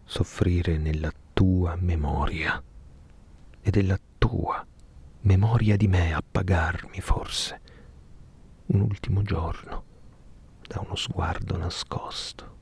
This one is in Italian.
soffrire nella tua memoria e della tua memoria di me appagarmi forse un ultimo giorno da uno sguardo nascosto.